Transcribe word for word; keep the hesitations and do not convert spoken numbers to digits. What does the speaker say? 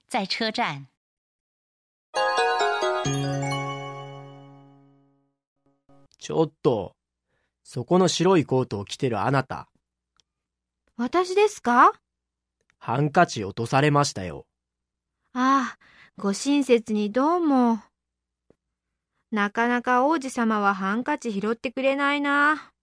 在车站。 ちょっと、そこの白いコートを着てるあなた。 私ですか？ ハンカチ落とされましたよ。 ああ、ご親切にどうも。なかなか王子様はハンカチ拾ってくれないな。